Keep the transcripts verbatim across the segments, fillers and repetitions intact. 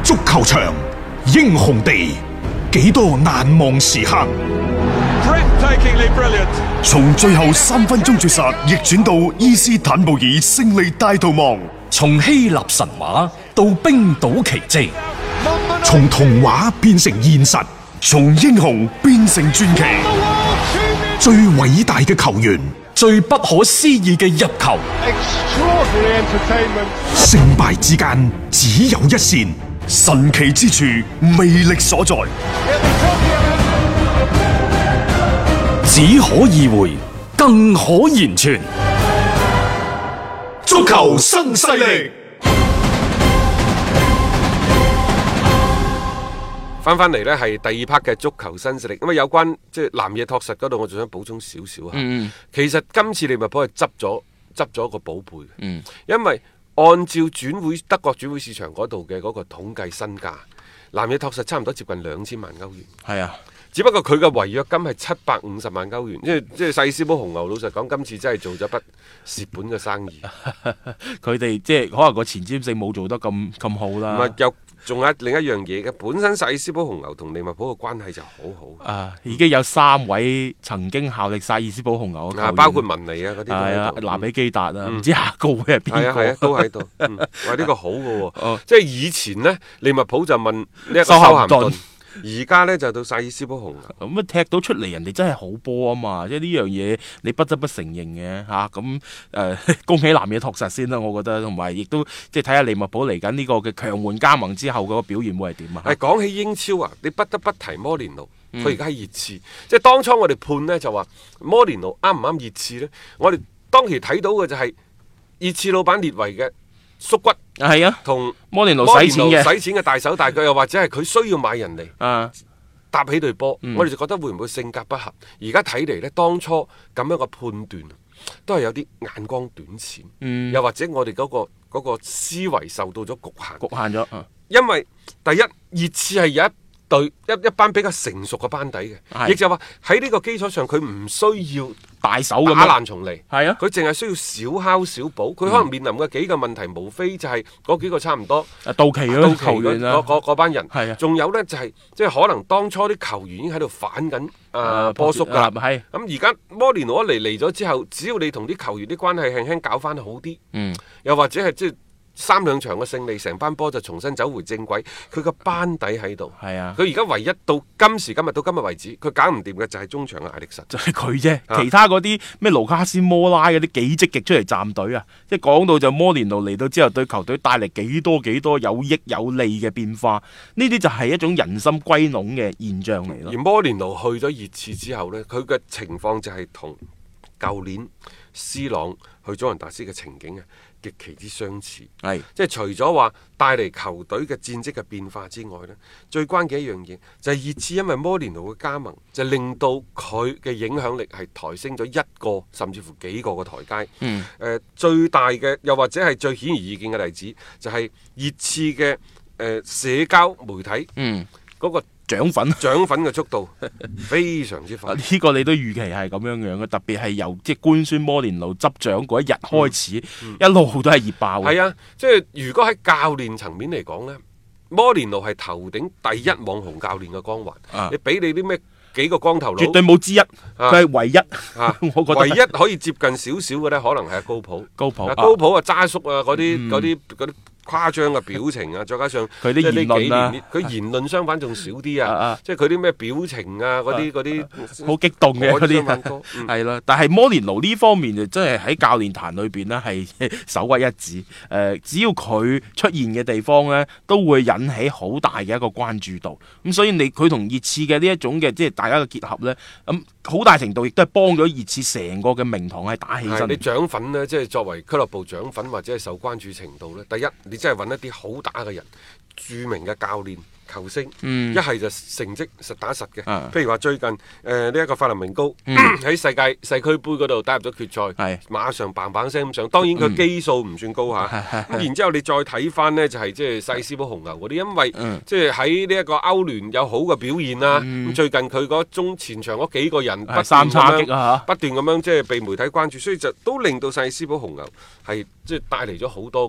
足球場，英雄地，幾多難忘時刻。 從最後三分鐘絕殺逆轉到伊斯坦布爾勝利大逃亡， 從希臘神話到冰島奇蹟， 從童話變成現實， 從英雄變成傳奇。 最偉大嘅球員， 最不可思議嘅入球， 勝敗之間只有一線， 神奇之處魅力所在， 只可意會，更可言傳。 足球新勢力。 翻翻嚟呢係第二 part 嘅足球新勢力。咁啊，有關即係南野拓實嗰度，我仲想補充少少嚇。 嗯， 其實今次利物浦係執咗執咗個寶貝。 嗯， 因為按照轉會德國轉會市場嗰度嘅嗰個統計身價，南野拓實差唔多接近兩千萬歐元。 係啊。 只不過佢嘅違約金係七百五十萬歐元，即係即係細斯堡紅牛。老實講，今次真係做咗筆蝕本嘅生意。 佢哋即係可能個前瞻性冇做得咁咁好啦。 唔係，又仲有另一樣嘢嘅，本身細斯堡紅牛同利物浦嘅關係就好好。 啊，已經有三位曾經效力薩爾斯堡紅牛嘅球員， 包括文尼啊嗰啲。係啊，拿比基達啊，唔、嗯、知下個會係邊個？ 係啊係啊，都喺度。喂、嗯，呢、呢個好嘅喎。哦、即係以前呢，利物浦就問呢一個修咸頓。而家呢，就到薩爾斯堡紅牛咁啊，踢到出嚟人哋真係好波啊嘛！即係呢樣嘢你不得不承認嘅嚇。咁、啊、誒、呃，恭喜南野拓實先啦，我覺得，同埋亦都即係睇下利物浦嚟緊呢個嘅強援加盟之後嗰個表現會係點啊？ 係講起英超啊，你不得不提摩連奴，佢而家喺熱刺。嗯、即係當初我哋判呢，就話摩連奴啱唔啱熱刺呢？我哋當時睇到嘅就係熱刺老闆列維嘅縮骨。 係啊， 同摩連奴使錢嘅， 使錢嘅大手大腳，又或者係佢需要買人嚟啊搭起隊波， 嗯、 我哋就覺得會唔會性格不合？而家睇嚟呢，當初咁樣嘅判斷都係有啲眼光短淺， 嗯、 又或者我哋嗰、嗰個、嗰個思維受到咗局限， 局限咗。啊、 因為第一熱刺係有一隊一一班比較成熟嘅班底嘅，亦就話喺呢個基礎上，佢唔需要大手咁打爛重嚟， 係啊， 佢淨係需要小敲小補。佢可能面臨嘅幾個問題，嗯、無非就係嗰幾個差唔多到期嗰球員啦， 嗰班人係啊， 仲有呢，就係即係可能當初啲球員已經喺度反緊誒波叔㗎啦，係咁而家摩連奴一嚟嚟咗之後，只要你同啲球員啲關係輕輕搞翻好啲， 嗯， 又或者係即係。三兩場嘅勝利，成班波就重新走回正軌。佢個班底喺度， 係啊。 佢而家唯一到今時今日到今日為止，佢搞唔掂嘅就係中場嘅艾力神， 就係佢啫。啊、其他嗰啲咩盧卡斯摩拉嗰啲幾積極出嚟站隊啊！即係講到就摩連奴嚟到之後，對球隊帶嚟幾多幾多有益有利嘅變化。呢啲就係一種人心歸攏嘅現象嚟咯。 而摩連奴去咗熱刺之後呢，佢嘅情況就係同舊年 C 朗去祖雲達斯嘅情景啊，極其之相似， 係即係除咗話帶嚟球隊嘅戰績嘅變化之外呢，最關鍵一樣嘢就係熱刺因為摩連奴嘅加盟，就令到佢嘅影響力係抬升咗一個甚至乎幾個嘅台階。 嗯， 誒、呃、最大嘅又或者係最顯而易見嘅例子，就係熱刺嘅誒社交媒體， 嗯， 嗰個漲粉漲粉嘅速度非常之快， 呢個你都預期係咁樣樣嘅，特別係由即係官宣摩連奴執掌嗰一日開始，嗯嗯、一路都係熱爆嘅。 係啊，即係如果喺教練層面嚟講呢，摩連奴係頭頂第一網紅教練嘅光環。啊、你俾你啲咩幾個光頭佬， 絕對冇之一，佢係、啊、唯一。啊、我覺得唯一可以接近少少嘅呢，可能係高普。 高普，啊、 高普啊，渣叔啊，嗰啲嗰啲嗰啲。誇張嘅表情啊，再加上佢啲言論啊， 佢言論相反仲少啲啊，即係佢啲咩表情啊，嗰啲嗰啲好激動嘅嗰啲，係啦。但係摩連奴呢方面就真係喺教練壇裏邊呢係首屈一指。誒、呃，只要佢出現嘅地方呢，都會引起好大嘅一個關注度。咁所以你佢同熱刺嘅呢一種嘅即係大家嘅結合呢，咁、嗯、好大程度亦都係幫咗熱刺成個嘅名堂係打起身。 你獎粉呢，即係作為俱樂部獎粉或者係受關注程度呢，第一你真係揾一啲好打嘅人，著名嘅教練、球星，一係、嗯、就成績實打實嘅。啊、譬如話最近誒呢一個法林明高喺、嗯、世界世俱杯嗰度打入咗決賽，是馬上砰砰聲咁上。當然佢基數唔算高嚇。咁、嗯啊、然之後你再睇翻呢，就係即係細斯堡紅牛嗰啲，因為即係喺呢一個歐聯有好嘅表現啦。咁、嗯、最近佢嗰中前場嗰幾個人不斷三叉戟啊， 不斷咁樣即係被媒體關注，所以就都令到細斯堡紅牛係即係帶嚟咗好多嘅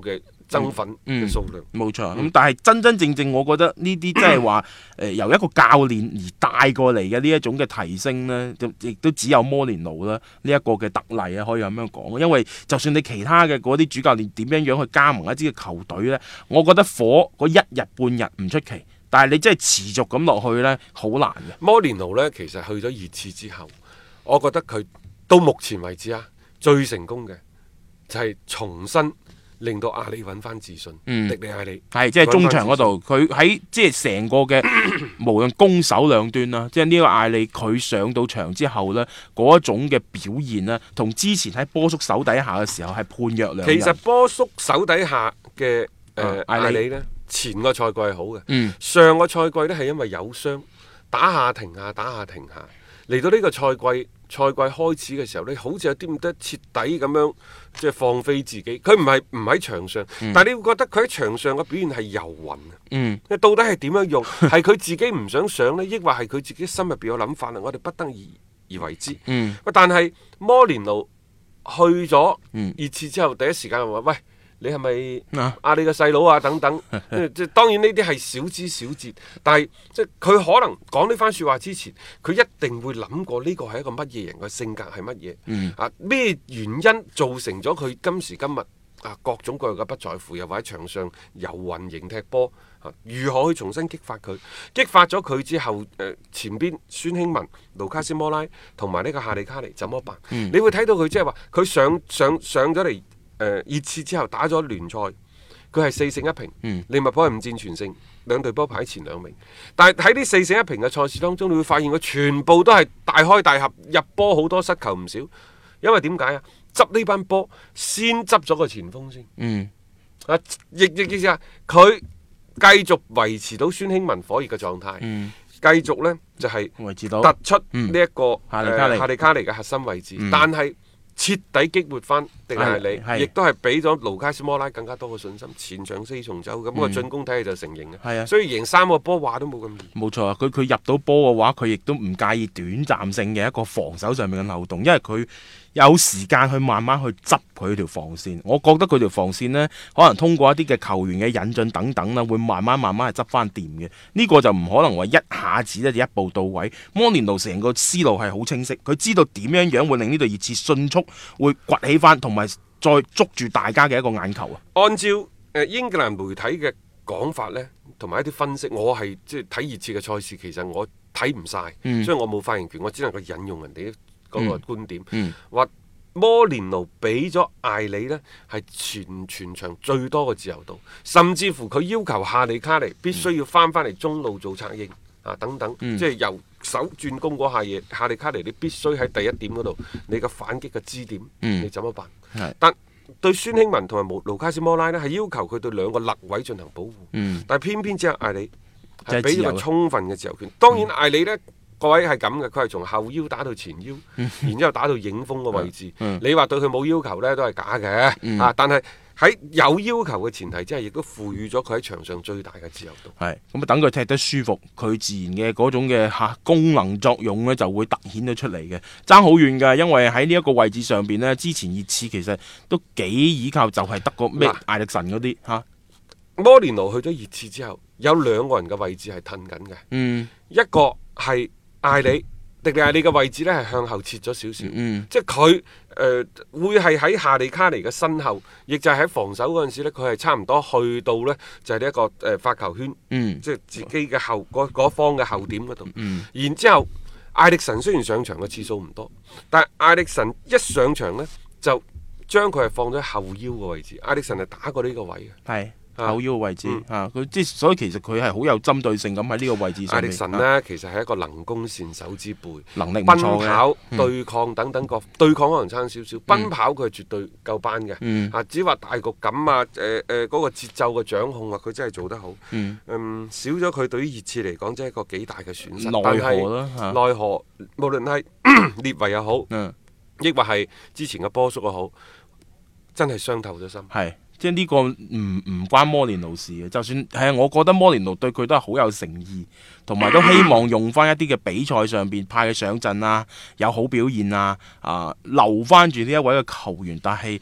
增粉嘅數量。 冇錯、嗯，咁、嗯、但係真真正正，我覺得呢啲即係話誒由一個教練而帶過嚟嘅呢一種嘅提升呢，亦都只有摩連奴啦呢一個嘅特例啊，可以咁樣講。因為就算你其他嘅嗰啲主教練點樣樣去加盟一支嘅球隊呢，我覺得火嗰一日半日唔出奇，但係你真係持續咁落去呢，好難嘅。 摩連奴呢，其實去咗熱刺之後，我覺得佢到目前為止啊，最成功嘅就係重新令到阿里揾翻自信。嗯，迪利亞里係即係中場嗰度，佢喺即係成個嘅無論攻守兩端啦，即係呢個阿里佢上到場之後呢，嗰一種嘅表現呢，同之前喺波叔手底下嘅時候係判若兩人。 其實波叔手底下嘅誒、呃、阿里呢，前個賽季係好嘅，嗯、上個賽季呢係因為有傷，打下停下，打下停下，嚟到呢個賽季。賽季開始嘅時候咧，好似有啲唔得徹底咁樣，即係放飛自己。佢唔係唔喺場上，嗯、但係你會覺得佢喺場上嘅表現係遊魂啊！嗯，到底係點樣用？係佢自己唔想上呢，抑或係佢自己心入邊有諗法啦？我哋不得而而為之。嗯，但係摩連奴去咗熱刺之後，第一時間話：喂，你係咪阿里嘅細佬啊？等等，即係當然呢啲係小枝小節，但係即係佢可能講呢番説話之前，佢一定會諗過呢個係一個乜嘢人嘅性格係乜嘢？嗯、啊咩原因造成咗佢今時今日啊各種各樣嘅不在乎，又或者場上遊魂型踢波啊？如何去重新激發佢？激發咗佢之後，誒、呃、前邊孫興文、盧卡斯摩拉同埋呢個夏利卡尼怎麼辦？嗯、你會睇到佢即係話佢上上上咗嚟。誒、呃、熱刺之後打咗聯賽，佢係四勝一平，嗯、利物浦係五戰全勝，兩隊波排前兩名。但係喺呢四勝一平嘅賽事當中，你會發現佢全部都係大開大合，入波好多，失球唔少。因為點解啊？執呢班波先執咗個前鋒先。嗯，啊，亦亦意思啊，佢繼續維持到孫興文火熱嘅狀態，嗯、繼續呢就係、是、突出呢、這、一個、嗯呃、夏利卡尼嘅核心位置，嗯、但係。徹底激活翻迪利亞里，亦都係俾咗盧卡斯摩拉更加多嘅信心，前場四重奏咁、嗯、個進攻體系就成型嘅。係啊，所以贏三個波話都冇咁易。 冇錯啊，佢佢入到波嘅話，佢亦都唔介意短暫性嘅一個防守上面嘅漏洞，因為佢有時間去慢慢去執佢條防線。我覺得佢條防線呢，可能通過一啲嘅球員嘅引進等等啦，會慢慢慢慢係執翻掂嘅。呢、這個就唔可能話一下子咧就一步到位。摩連奴成個思路係好清晰，佢知道點樣樣會令呢隊熱刺迅速會崛起翻，同埋再捉住大家嘅一個眼球啊！ 按照誒、呃、英格蘭媒體嘅講法呢，同埋一啲分析，我係即係睇熱刺嘅賽事，其實我睇唔晒，嗯、所以我冇發言權，我只能夠引用人哋嗰個觀點，話、嗯嗯、摩連奴俾咗艾里呢係全全場最多嘅自由度，甚至乎佢要求夏利卡尼必須要翻翻嚟中路做策應啊等等，嗯、即係由手轉攻嗰下嘢，夏利卡尼你必須喺第一點嗰度，你嘅反擊嘅支點，嗯、你怎麼辦？是但對孫興文同埋盧卡斯摩拉呢係要求佢對兩個肋位進行保護，嗯、但係偏偏只有艾里係俾咗個充分嘅自由權。當然艾里呢。嗯各位係咁嘅，佢係從後腰打到前腰，嗯、然之後打到影鋒嘅位置。嗯、你話對佢冇要求呢，都係假嘅。嗯、啊，但係喺有要求嘅前提之下，亦都賦予咗佢喺場上最大嘅自由度。係咁啊，等佢踢得舒服，佢自然嘅嗰種嘅嚇功能作用呢就會突顯咗出嚟嘅。爭好遠㗎，因為喺呢一個位置上邊呢，之前熱刺其實都幾依靠，就係得個咩艾力神嗰啲嚇。 摩連奴去咗熱刺之後，有兩個人嘅位置係褪緊嘅。嗯，一個係艾里，迪利亞里嘅位置咧係向後切咗少少，嗯、即係佢誒會係喺夏利卡尼嘅身後，亦就係喺防守嗰陣時咧，佢係差唔多去到呢，就係呢一個誒、呃、發球圈，嗯、即係自己嘅後嗰方嘅後點嗰度。嗯、然之後艾力神雖然上場嘅次數唔多，但係艾力神一上場呢，就將佢係放咗後腰嘅位置。艾力神係打過呢個位嘅。係。後腰嘅位置啊，佢即係所以其實佢係好有針對性咁喺呢個位置上面。艾力神呢，啊、其實係一個能攻善守之輩，能力唔錯嘅。奔跑、嗯、對抗等等各對抗可能差少少，嗯、奔跑佢係絕對夠班嘅。嗯、啊，只話大局感啊，誒誒嗰個節奏嘅掌控啊，佢真係做得好。嗯，嗯少咗佢對於熱刺嚟講，真係一個幾大嘅損失。奈何啦，奈、啊、何無論係列維又好，亦、嗯、或係之前嘅波叔又好，真係傷透咗心。係。即係呢個唔唔關摩連奴事嘅，就算係啊，我覺得摩連奴對佢都係好有誠意，同埋都希望用翻一啲嘅比賽上邊派佢上陣啊，有好表現啊，啊留翻住呢一位嘅球員。但係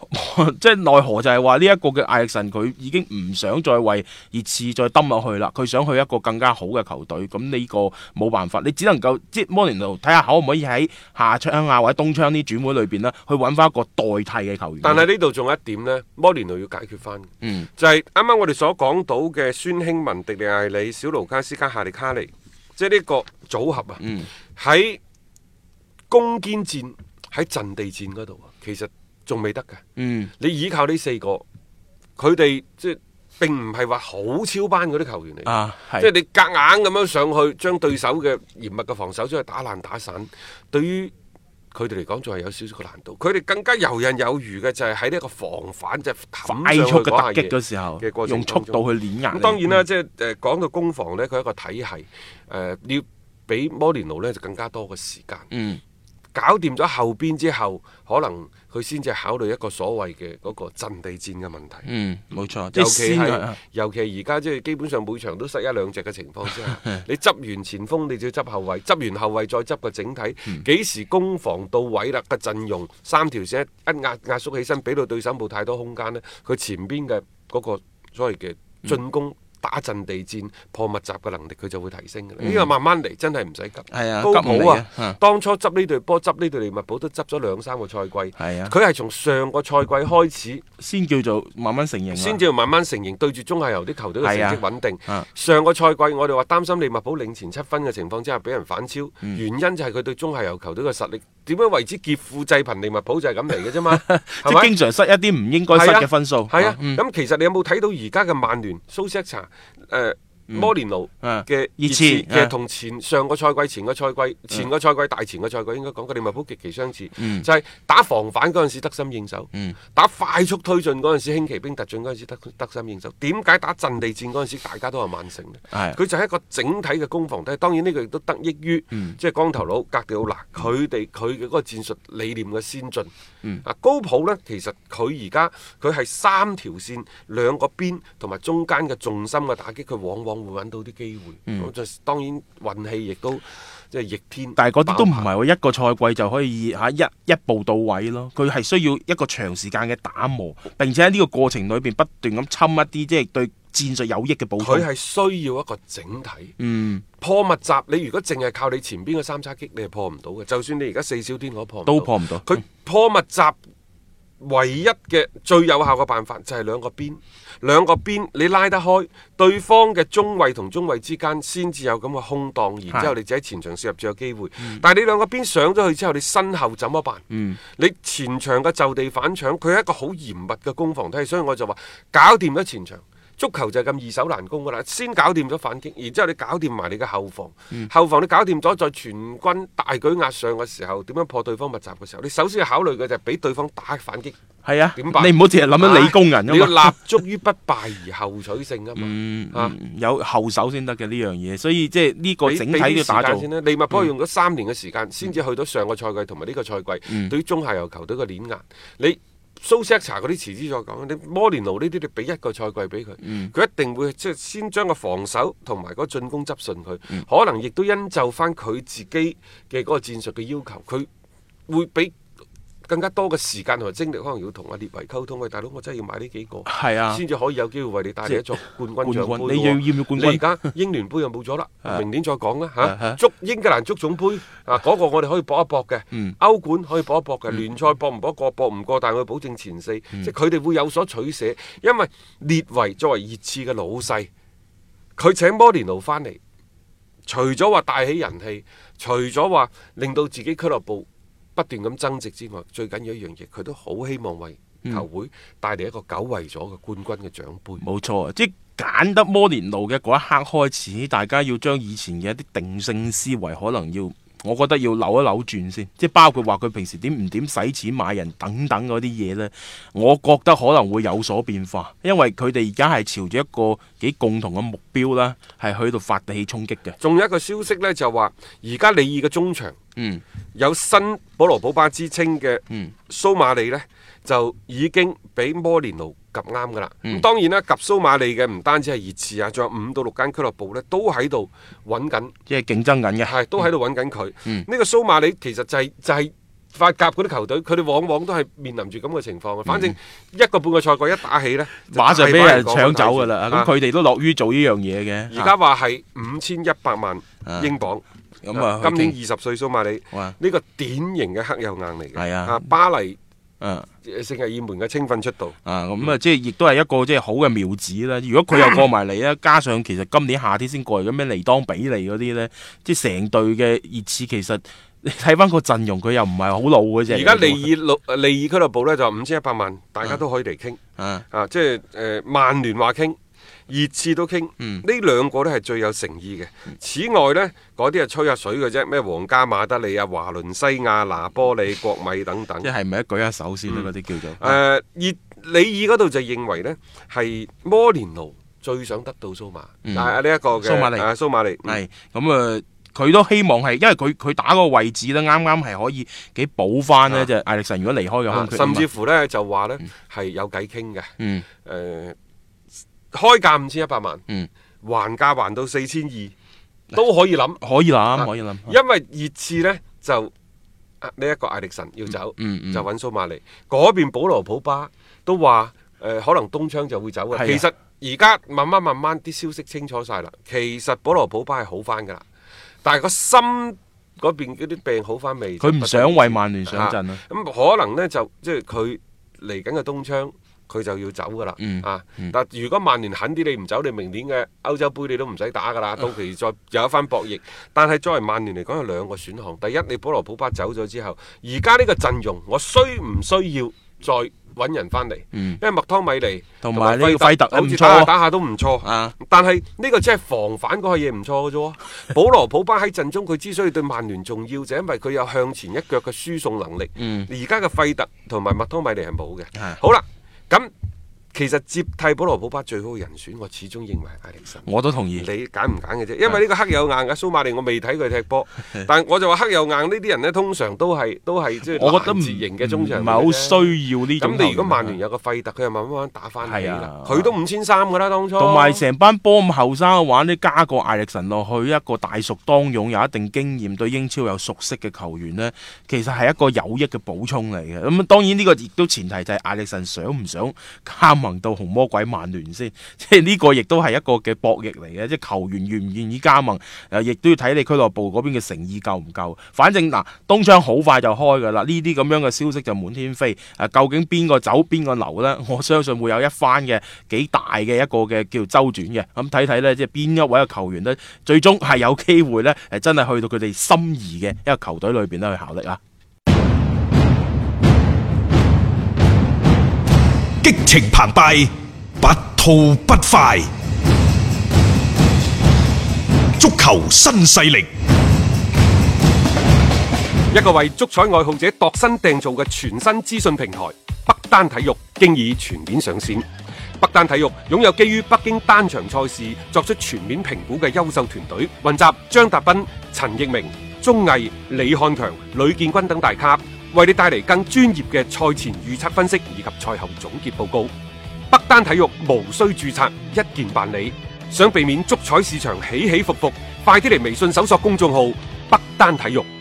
即係奈何就係話呢一個嘅艾力神佢已經唔想再為熱刺再抌落去啦，佢想去一個更加好嘅球隊，咁呢個冇辦法，你只能夠即係摩連奴睇下可唔可以喺夏窗啊或者冬窗啲轉會裏邊呢去揾翻一個代替嘅球員。 但係呢度仲有一點呢，摩連奴要解決翻，嗯，就係啱啱我哋所講到嘅孫興文、迪利艾里、小盧卡斯加夏利卡尼，即係呢個組合啊，喺、嗯、攻堅戰喺陣地戰嗰度啊，其實仲未得嘅。嗯，你依靠呢四個，佢哋即係並唔係話好超班嗰啲球員嚟，啊、即係你夾硬咁樣上去，將對手嘅嚴密嘅防守將佢打爛打散，對於佢哋嚟講仲係有少少嘅難度。佢哋更加游刃有餘嘅就係喺呢一個防反，即係快速嘅突擊嘅時候，用速度去碾壓。 咁當然啦，嗯、即係誒講到攻防呢，佢係一個體系，誒、呃、要比摩連奴呢就更加多嘅時間。嗯。搞掂咗後邊之後，可能佢先至考慮一個所謂嘅嗰個陣地戰嘅問題。嗯，冇錯。尤其係尤其係而家即係基本上每場都失一兩隻嘅情況之下，你執完前鋒，你就要執後衞，執完後衞再執個整體，幾、嗯、時攻防到位啦？個陣容三條線一壓壓縮起身，俾到對手冇太多空間呢，佢前邊嘅嗰個所謂嘅進攻。嗯打陣地戰破密集嘅能力佢就會提升嘅，呢個、嗯、慢慢嚟，真係唔使急。係啊，高普啊，啊當初執呢隊波執呢隊利物浦都執咗兩三個賽季。係啊，佢係從上個賽季開始先叫做慢慢成型，先至慢慢成型，對住中下游啲球隊嘅成績穩定。啊啊、上個賽季我哋話擔心利物浦領前七分嘅情況之下俾人反超，嗯、原因就係佢對中下游球隊嘅實力點樣為之劫富濟貧，利物浦就係咁嚟嘅啫嘛。即係經常失一啲唔應該失嘅分數。係啊，咁、啊嗯、其實你有冇睇到而家嘅曼聯蘇斯查？誒、呃、摩連奴嘅熱刺嘅同前上個賽季、前個賽季、前個賽季、大前個賽季應該講嘅利物浦極其相似，嗯、就係打防反嗰陣時得心應手，嗯、打快速推進嗰陣時輕騎兵突進嗰陣時得得心應手。點解打陣地戰嗰陣時大家都係曼城呢？佢就係一個整體嘅攻防。但係當然呢個亦都得益於、嗯、即係光頭佬格迪奧拿佢哋佢嘅嗰個戰術理念嘅先進。嗯、啊高普呢，其實佢而家佢係三條線兩個邊同埋中間嘅重心嘅打擊，佢往往會揾到啲機會。嗯、就當然運氣亦都即係逆天，但係嗰啲都唔係話一個賽季就可以嚇一一步到位咯。佢係需要一個長時間嘅打磨，並且喺呢個過程裏邊不斷咁侵一啲即係對戰術有益嘅補充。佢係需要一個整體。嗯，破密集你如果淨係靠你前邊嘅三叉戟，你係破唔到嘅。就算你而家四小天我破唔到，都破唔到。佢破密集。唯一嘅最有效嘅辦法就係兩個邊，兩個邊你拉得開，對方嘅中衛同中衛之間先至有咁嘅空檔，然之後你就喺前場射入最有機會。嗯、但係你兩個邊上咗去之後，你身後怎麼辦？嗯、你前場嘅就地反搶，佢係一個好嚴密嘅攻防體系，所以我就話搞掂咗前場。足球就係咁易守難攻噶啦，先搞掂咗反擊，然之後你搞掂埋你嘅後防，嗯、後防你搞掂咗，再全軍大舉壓上嘅時候，點樣破對方密集嘅時候，你首先要考慮嘅就係俾對方打反擊。係啊，點辦？你唔好淨係諗緊理工人，你要立足於不敗而後取勝啊嘛。嗯啊嗯、有後手先得嘅呢樣嘢，所以即係呢個整體嘅打造先啦。利物浦用咗三年嘅時間，先至、嗯、去到上個賽季同埋呢個賽季，嗯、對於中下游球隊嘅碾壓，你。蘇斯查嗰啲遲啲再講，你摩連奴呢啲你俾一個賽季俾佢，佢、嗯、一定會即係先將個防守同埋嗰個進攻執順佢，嗯、可能亦都因就翻佢自己嘅嗰個戰術嘅要求，佢會俾更加多嘅時間同埋精力，可能要同阿列維溝通。喂，大佬，我真係要買呢幾個，係啊，先至可以有機會為你帶嚟一座冠軍獎杯。你要要唔要冠軍？你而家英聯杯又冇咗啦，明年再講啦嚇。足英格蘭足總杯啊，嗰個我哋可以搏一搏嘅。歐冠可以搏一搏嘅，聯賽搏唔搏過搏唔過，但係我保證前四。即係佢哋會有所取捨，因為列維作為熱刺嘅老細，佢請摩連奴翻嚟，除咗話帶起人氣，除咗話令到自己俱樂部不斷咁增值之外，最緊要一樣嘢，佢都好希望為球會帶嚟一個久違咗嘅冠軍嘅獎杯。冇錯，即係揀得摩連奴嘅嗰一刻開始，大家要將以前嘅一啲定性思維，可能要，我覺得要扭一扭轉先。即係包括話佢平時點唔點使錢買人等等嗰啲嘢呢，我覺得可能會有所變化，因為佢哋而家係朝住一個幾共同嘅目標啦，係去到發起衝擊嘅。仲有一個消息呢，就話而家里爾嘅中場。嗯，有新保羅保巴之稱嘅蘇馬利呢，就已經俾摩連奴及啱噶啦。咁、嗯、當然啦，及蘇馬利嘅唔單止係熱刺啊，仲有五到六間俱樂部呢，都喺度揾緊，即係競爭緊嘅，係都喺度揾緊佢。呢、嗯、個蘇馬利其實就係、是、就係、是、 法甲嗰啲球隊，佢哋往往都係面臨住咁嘅情況嘅。反正一個半個賽季一打起呢， 馬上俾人搶走㗎啦。咁佢哋都樂於做呢樣嘢嘅。 而家話係五千一百萬英鎊。 咁啊， 今年二十歲蘇馬里，呢個典型嘅黑又硬嚟嘅。 係啊， 巴黎。 嗯， 聖日耳門嘅青訓出道啊，咁啊，即係亦都係一個即係好嘅苗子啦。如果佢又過埋嚟咧，加上其實今年夏天先過嚟嘅咩尼當比利嗰啲咧，即係成隊嘅熱刺，其實你睇翻個陣容，佢又唔係好老嘅啫。而家利爾利爾俱樂部咧就五千一百萬，大家都可以嚟傾啊， 啊，即係誒曼聯話傾。熱刺都傾，呢、嗯、兩個都係最有誠意嘅。嗯、此外呢，嗰啲係吹下水嘅啫，咩皇家馬德里啊、華倫西亞、拿波里、國米等等。 即係咪一舉一手先咧？嗰啲、嗯、叫做。誒、 呃，熱里爾嗰度就認為呢係摩連奴最想得到蘇馬， 嗯、 但係呢一個嘅蘇馬利， 啊、蘇馬利係咁啊，佢、嗯、都希望係，因為佢佢打嗰個位置呢，啱啱係可以幾補翻呢。就係艾力神如果離開嘅空缺， 甚至乎呢就話呢係、嗯、有計傾嘅。 嗯。 誒、呃。開價五千一百萬， 嗯， 還價還到四千二都可以諗， 可以諗，可以諗。 因為熱刺呢，就呢一個艾力神要走， 嗯嗯嗯、 就揾蘇馬利。嗰邊保羅普巴都話誒、呃，可能冬窗就會走嘅。 的其實而家慢慢慢慢啲消息清楚晒啦。其實保羅普巴係好翻噶啦，但係個心嗰邊嗰啲病好翻未？ 佢唔想為曼聯上陣啊。 咁、啊、可能呢，就即係佢嚟緊嘅冬窗。佢就要走噶啦， 嗯、 啊！ 嗯、 但如果曼聯狠啲，你唔走，你明年嘅歐洲杯你都唔使打噶啦，到期再有一番博弈。但係作為曼聯嚟講，有兩個選項。第一，你保羅普巴走咗之後，而家呢個陣容，我需唔需要再揾人翻嚟？ 嗯、 因為麥湯米尼同埋呢個費特好似打下打下都唔錯， 啊、 但係呢個只係防反嗰個嘢唔錯嘅啫。保羅普巴喺陣中，佢之所以對曼聯重要，就係因為佢有向前一腳嘅輸送能力。而家嘅費特同埋麥湯米尼係冇嘅。 的好啦。咁其實接替保羅普巴最好嘅人選，我始終認為艾力神。 我都同意。 你揀唔揀嘅啫？因為呢個黑有硬嘅蘇馬利，我未睇佢踢波，但係我就話黑有硬呢啲人呢，通常都係都係即係攔截型嘅中場， 唔係好需要呢種。 咁你如果曼聯有個費特，佢又慢慢慢慢打翻起啦。佢都五千三噶啦，當初。 同埋成班波咁後生嘅話，你加個艾力神落去，一個大熟當勇，有一定經驗，對英超有熟悉嘅球員呢，其實係一個有益嘅補充嚟嘅。咁當然呢個亦都前提就係艾力神想唔想加盟到紅魔鬼曼聯先，即係呢個亦都係一個嘅博弈嚟嘅，即係球員願唔願意加盟，誒，亦都要睇你俱樂部嗰邊嘅誠意夠唔夠。反正嗱，冬窗好快就開噶啦，呢啲咁樣嘅消息就滿天飛。誒、啊，究竟邊個走邊個留呢？我相信會有一番嘅幾大嘅一個嘅叫周轉嘅。咁睇睇呢，即係邊一位嘅球員呢，最終係有機會呢，誒，真係去到佢哋心儀嘅一個球隊裏邊咧去效力啊！ 激情澎湃，不吐不快。足球新勢力， 一個為足彩愛好者度身訂造嘅全新資訊平台北單體育，經已全面上線。北單體育擁有基於北京單場賽事作出全面評估嘅優秀團隊，雲集張達斌、陳奕明、鐘毅、李漢強、呂建軍等大咖，為你帶嚟更專業嘅賽前預測分析以及賽後總結報告。北單體育無需註冊，一鍵辦理。想避免足彩市場起起伏伏，快啲嚟微信搜索公眾號北單體育。